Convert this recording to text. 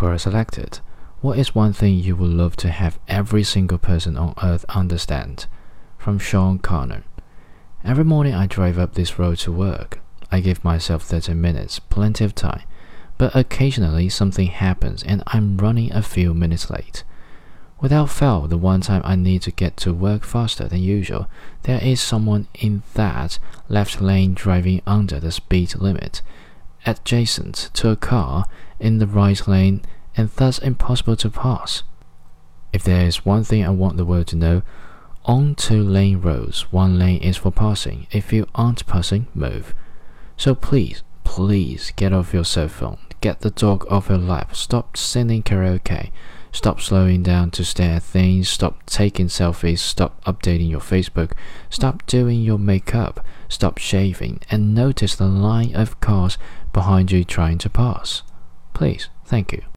Quora selected. What is one thing you would love to have every single person on earth understand? From Sean Connor. Every morning I drive up this road to work. I give myself 30 minutes, plenty of time. But occasionally something happens and I'm running a few minutes late. Without fail, the one time I need to get to work faster than usual, there is someone in that left lane driving under the speed limit, adjacent to a car in the right lane and thus impossible to pass. If there is one thing I want the world to know, on 2-lane roads, 1 lane is for passing. If you aren't passing, move. So please get off your cell phone, get the dog off your lap, stop singing karaoke, stop slowing down to stare at things, stop taking selfies, stop updating your Facebook, stop doing your makeup, stop shaving, and notice the line of cars behind you trying to pass. Please, thank you.